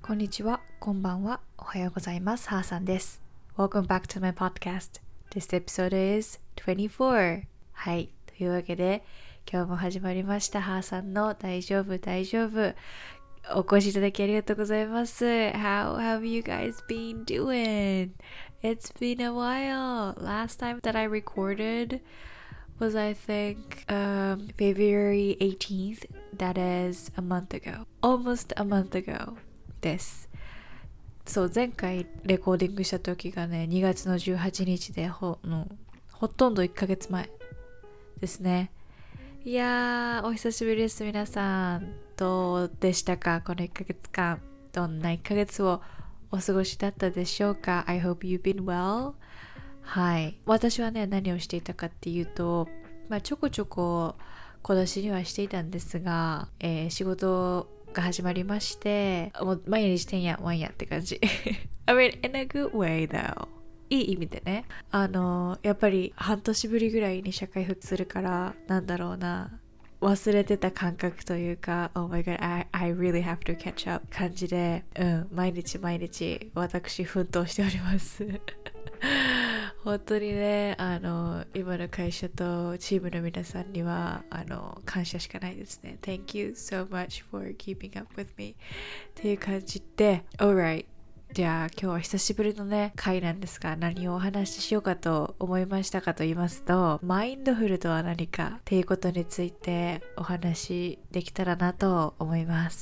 こんにちは、こんばんは、おはようございます。はーさんです。Welcome back to my podcast. This episode is 24. はい、というわけで今日も始まりました。はーさんの大丈夫大丈夫。お越しいただきありがとうございます。How have you guys been doing? It's been a while. Last time that I recorded was I think February 18th. That is a month ago. Almost a month ago. です。そう、前回レコーディングした時がね、2月の18日でほとんど1ヶ月前ですね。いやー、お久しぶりです。皆さんどうでしたか？この1ヶ月間、どんな1ヶ月をお過ごしだったでしょうか？ I hope you've been well. はい、私はね、何をしていたかっていうと、ちょこちょこ小出しにはしていたんですが、仕事が始まりまして、もう毎日てんやわんやって感じI mean in a good way though、 いい意味でね、やっぱり半年ぶりぐらいに社会復帰するから、なんだろうな、忘れてた感覚というか、 Oh my god, I really have to catch up 感じで、毎日私奮闘しております本当にね、今の会社とチームの皆さんには感謝しかないですね。 Thank you so much for keeping up with me っていう感じで、 Alright、 じゃあ今日は久しぶりのね回なんですが、何をお話ししようかと思いましたかと言いますと、マインドフルとは何かっていうことについてお話できたらなと思います。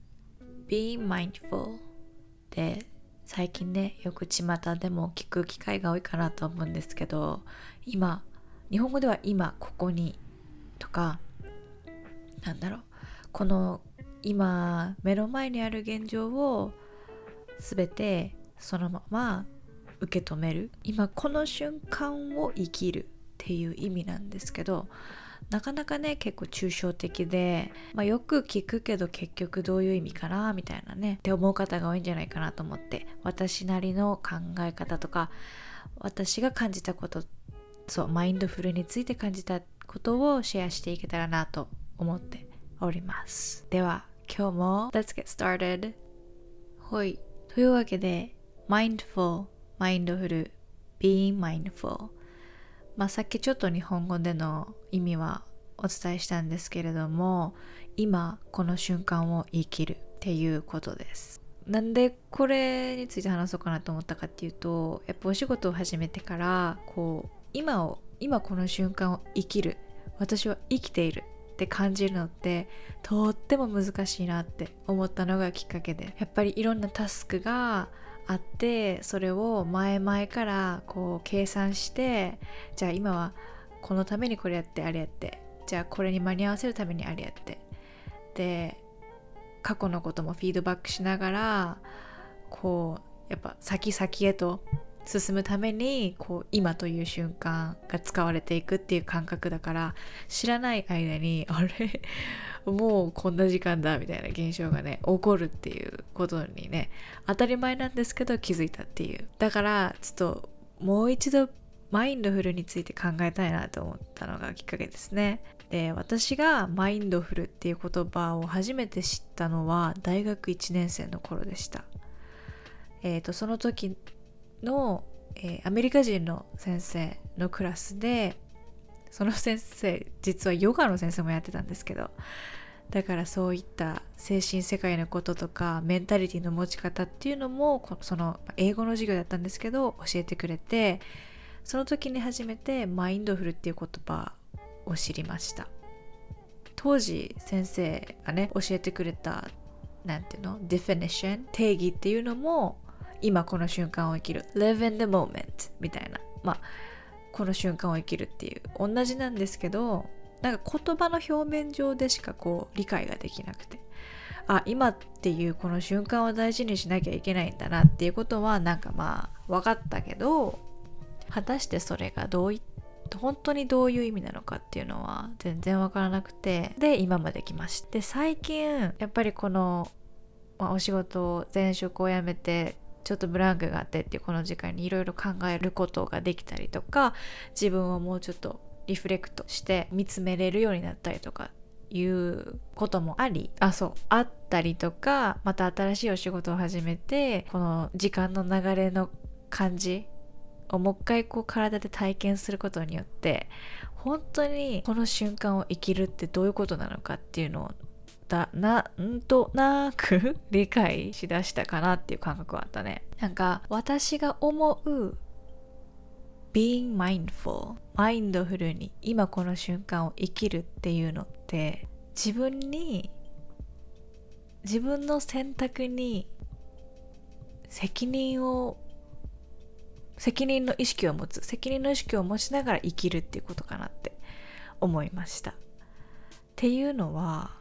Being mindful で最近ね、よく巷でも聞く機会が多いかなと思うんですけど、今、日本語では今ここにとか、なんだろう、この今目の前にある現状をすべてそのまま受け止める、今この瞬間を生きるっていう意味なんですけど、なかなかね結構抽象的で、よく聞くけど結局どういう意味かなみたいなねって思う方が多いんじゃないかなと思って、私なりの考え方とか、私が感じたこと、そう、マインドフルについて感じたことをシェアしていけたらなと思っております。では今日も Let's get started。 ほい、というわけで Mindful、 マインドフル、 Being mindful、さっきちょっと日本語での意味はお伝えしたんですけれども、今この瞬間を生きるっていうことです。なんでこれについて話そうかなと思ったかっていうと、やっぱお仕事を始めてから今この瞬間を生きる、私は生きているって感じるのってとっても難しいなって思ったのがきっかけで、やっぱりいろんなタスクがあって、それを前々から計算して、じゃあ今はこのためにこれやってあれやって、じゃあこれに間に合わせるためにあれやって、で過去のこともフィードバックしながらやっぱ先へと進むために今という瞬間が使われていくっていう感覚だから、知らない間にあれもうこんな時間だみたいな現象がね起こるっていうことにね、当たり前なんですけど気づいたっていう。だからちょっともう一度マインドフルについて考えたいなと思ったのがきっかけですね。で、私がマインドフルっていう言葉を初めて知ったのは大学1年生の頃でした。その時の、アメリカ人の先生のクラスで、その先生実はヨガの先生もやってたんですけど、だからそういった精神世界のこととかメンタリティの持ち方っていうのもその英語の授業だったんですけど教えてくれて、その時に初めてマインドフルっていう言葉を知りました。当時先生がね教えてくれたなんていうの、definition、定義っていうのも今この瞬間を生きる、 live in the moment みたいな、この瞬間を生きるっていう同じなんですけど、なんか言葉の表面上でしか理解ができなくて、今っていうこの瞬間を大事にしなきゃいけないんだなっていうことはなんか分かったけど、果たしてそれが本当にどういう意味なのかっていうのは全然分からなくて、で今まで来ました。で最近やっぱりこの、お仕事を前職を辞めてちょっとブランクがあってっていうこの時間にいろいろ考えることができたりとか、自分をもうちょっとリフレクトして見つめれるようになったりとかっいうこともあったりとか、また新しいお仕事を始めてこの時間の流れの感じをもう一回体で体験することによって本当にこの瞬間を生きるってどういうことなのかっていうのをなんとなく理解しだしたかなっていう感覚はあったね。なんか私が思う being mindful マインドフルに今この瞬間を生きるっていうのって自分の選択に責任の意識を持ちながら生きるっていうことかなって思いました。っていうのは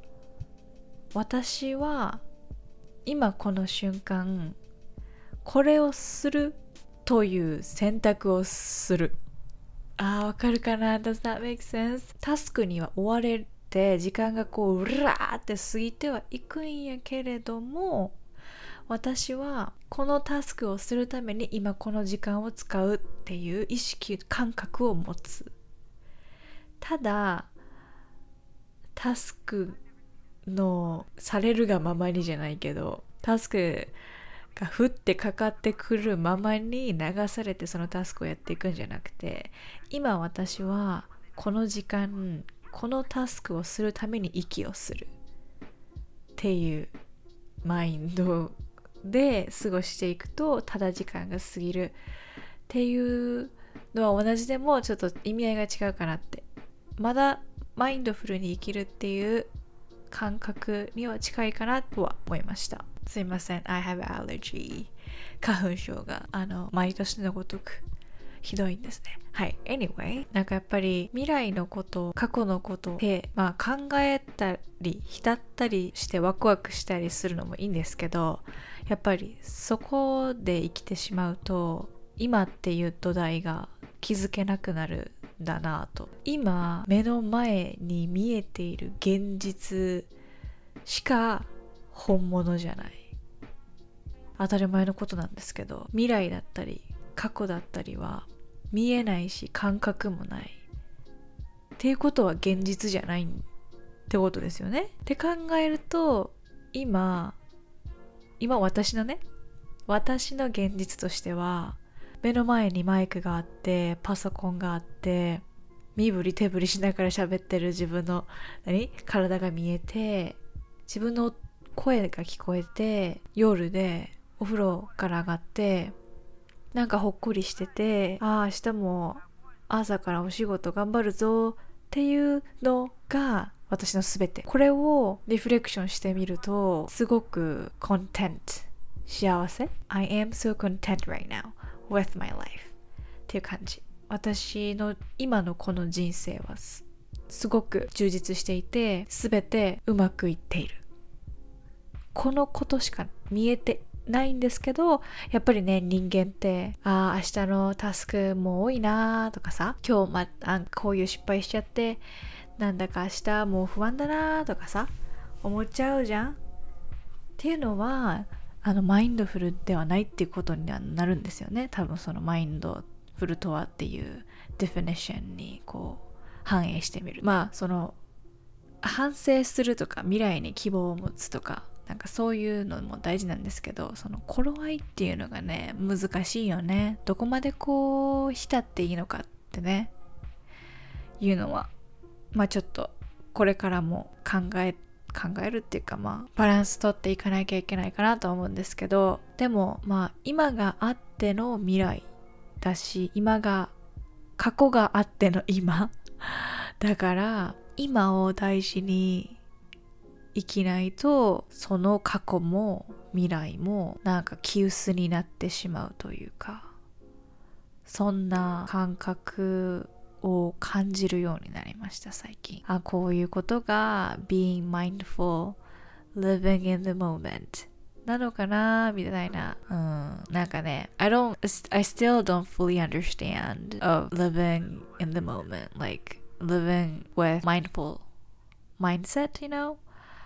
私は今この瞬間これをするという選択をする。わかるかな？ Does that make sense? タスクには追われて時間がうらーって過ぎてはいくんやけれども、私はこのタスクをするために今この時間を使うっていう感覚を持つ。ただタスクのされるがままにじゃないけど、タスクが降ってかかってくるままに流されてそのタスクをやっていくんじゃなくて、今私はこの時間このタスクをするために息をするっていうマインドで過ごしていくと、ただ時間が過ぎるっていうのは同じでもちょっと意味合いが違うかなって、まだマインドフルに生きるっていう感覚には近いかなとは思いました。すいません、 I have allergy 花粉症が毎年のごとくひどいんですね。はい、anyway、 なんかやっぱり未来のこと過去のことで、考えたり浸ったりしてワクワクしたりするのもいいんですけど、やっぱりそこで生きてしまうと今っていう土台が築けなくなるんだなと。今目の前に見えている現実しか本物じゃない。当たり前のことなんですけど、未来だったり過去だったりは見えないし感覚もないっていうことは現実じゃないってことですよね。って考えると今私の現実としては目の前にマイクがあってパソコンがあって身振り手振りしながら喋ってる自分の体が見えて、自分の声が聞こえて、夜でお風呂から上がってなんかほっこりしてて、明日も朝からお仕事頑張るぞっていうのが私のすべて。これをリフレクションしてみるとすごく幸せ I am so content right now with my life っていう感じ。私の今のこの人生はすごく充実していて、すべてうまくいっている。このことしか見えてないんですけど、やっぱりね、人間って明日のタスクも多いなとかさ、今日こういう失敗しちゃってなんだか明日もう不安だなとかさ思っちゃうじゃん。っていうのはマインドフルではないっていうことにはなるんですよね。多分そのマインドフルとはっていうディフィニッションに反映してみる。その反省するとか未来に希望を持つとかなんかそういうのも大事なんですけど、その頃合いっていうのがね難しいよね。どこまで浸っていいのかってねいうのはちょっとこれからも考えるっていうかバランス取っていかなきゃいけないかなと思うんですけど、でも今があっての未来だし、過去があっての今だから今を大事に生きないと、その過去も未来もなんか気薄になってしまうというか、そんな感覚を感じるようになりました最近。こういうことが being mindful living in the moment なのかなみたいな。なんかね I still don't fully understand of living in the moment, like living with mindful mindset, you know,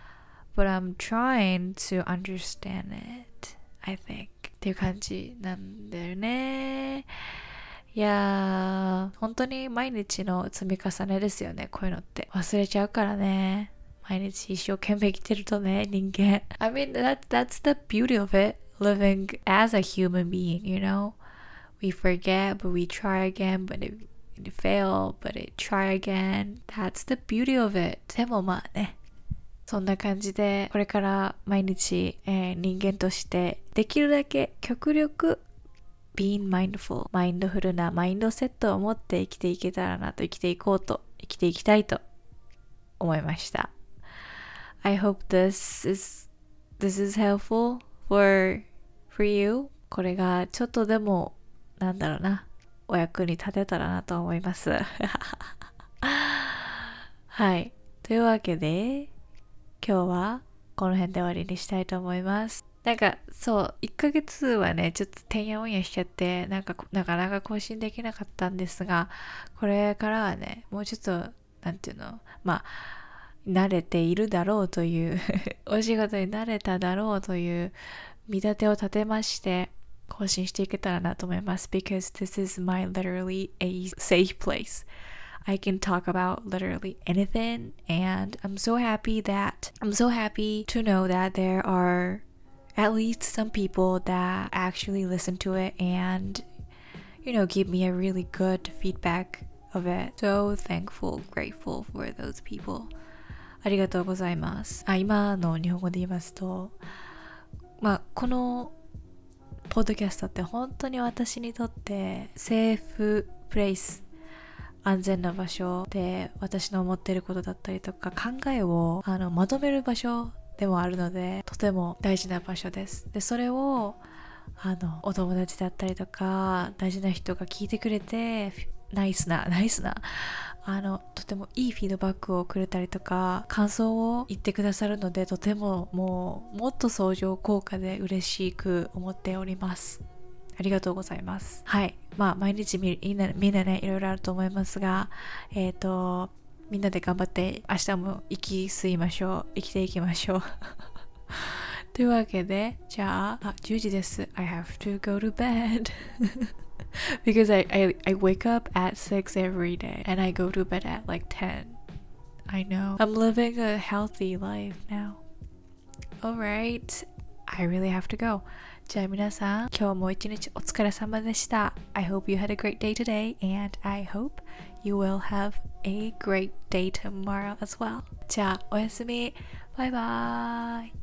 but I'm trying to understand it, I think っていう感じなんだよね。 いやー、本当に毎日の積み重ねですよね、こういうのって。忘れちゃうからね。毎日一生懸命生きてるとね、人間。I mean, that's the beauty of it, living as a human being, you know? We forget, but we try again, but it fail, but it try again. That's the beauty of it. でもまあね。そんな感じで、これから毎日、人間としてできるだけ極力being mindful マインドフルなマインドセットを持って生きていけたらなと、生きていきたいと思いました。I hope this is helpful for you. これがちょっとでもなんだろうな、お役に立てたらなと思います。はい。というわけで今日はこの辺で終わりにしたいと思います。なんかそう1ヶ月はねちょっとてんやわんやしちゃってなかなか更新できなかったんですが、これからはねもうちょっとなんていうの、まあ慣れているだろうというお仕事に慣れただろうという見立てを立てまして更新していけたらなと思います。 because this is my literally a safe place. I can talk about literally anything, and I'm so happy to know that there are at least some people that actually listen to it and give me a really good feedback of it. So thankful, grateful for those people. ありがとうございます。今の日本語で言いますと、このポッドキャストって本当に私にとってセーフプレイス、安全な場所で私の思っていることだったりとか考えをまとめる場所でもあるので、とても大事な場所です。でそれをお友達だったりとか大事な人が聞いてくれてナイスなとてもいいフィードバックをくれたりとか感想を言ってくださるので、とてももっと相乗効果で嬉しく思っております。ありがとうございます。はい。毎日みんなねいろいろあると思いますが、みんなで頑張って明日も生きていきましょうというわけで、じゃあ10時です。I have to go to bed because I wake up at 6 every day and I go to bed at like 10. I know. I'm living a healthy life now. Alright. I really have to go. じゃあ皆さん、今日も一日お疲れ様でした。I hope you had a great day today and I hope you will have a great day tomorrow as well. じゃあおやすみ。バイバーイ。